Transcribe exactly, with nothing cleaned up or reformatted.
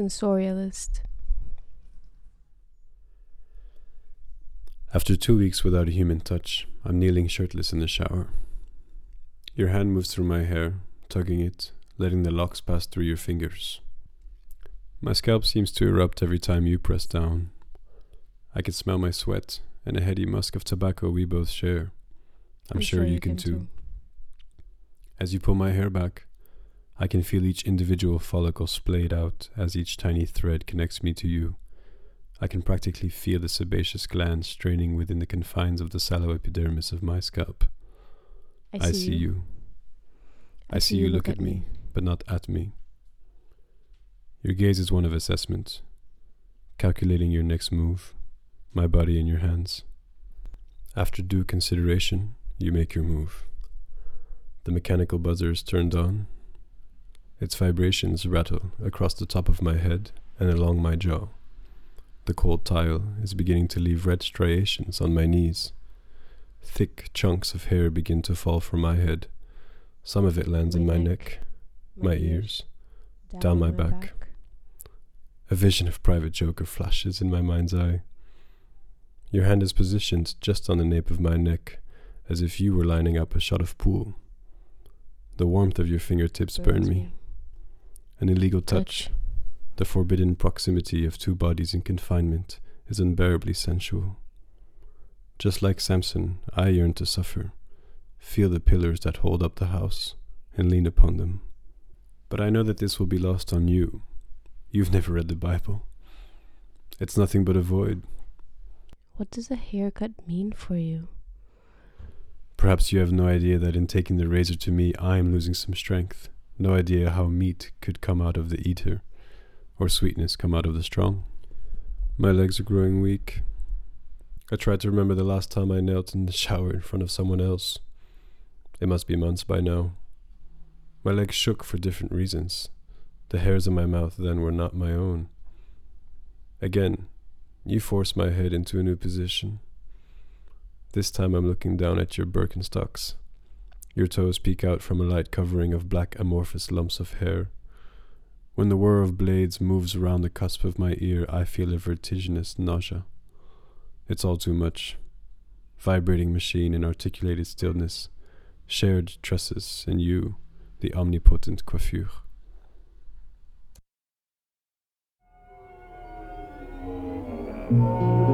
sensorialist. After two weeks without a human touch, I'm kneeling shirtless in the shower. Your hand moves through my hair, tugging it, letting the locks pass through your fingers. My scalp seems to erupt every time you press down. I can smell my sweat and a heady musk of tobacco we both share. I'm, I'm sure, sure you can, can too. too. As you pull my hair back, I can feel each individual follicle splayed out as each tiny thread connects me to you. I can practically feel the sebaceous glands straining within the confines of the sallow epidermis of my scalp. I see, I see you. you. I, I see, see you look, look at me, me, but not at me. Your gaze is one of assessment, calculating your next move, my body in your hands. After due consideration, you make your move. The mechanical buzzer is turned on. Its vibrations rattle across the top of my head and along my jaw. The cold tile is beginning to leave red striations on my knees. Thick chunks of hair begin to fall from my head. Some of it lands my in my neck, neck, my, my ears, down, down my, my back. back. A vision of Private Joker flashes in my mind's eye. Your hand is positioned just on the nape of my neck, as if you were lining up a shot of pool. The warmth of your fingertips burn me. me. An illegal touch. touch. The forbidden proximity of two bodies in confinement is unbearably sensual. Just like Samson, I yearn to suffer, feel the pillars that hold up the house, and lean upon them. But I know that this will be lost on you. You've never read the Bible. It's nothing but a void. What does a haircut mean for you? Perhaps you have no idea that in taking the razor to me, I am losing some strength. No idea how meat could come out of the eater, or sweetness come out of the strong. My legs are growing weak. I tried to remember the last time I knelt in the shower in front of someone else. It must be months by now. My legs shook for different reasons. The hairs in my mouth then were not my own. Again, you force my head into a new position. This time I'm looking down at your Birkenstocks. Your toes peek out from a light covering of black amorphous lumps of hair. When the whir of blades moves around the cusp of my ear, I feel a vertiginous nausea. It's all too much. Vibrating machine in articulated stillness, shared tresses, and you, the omnipotent coiffure. Thank you.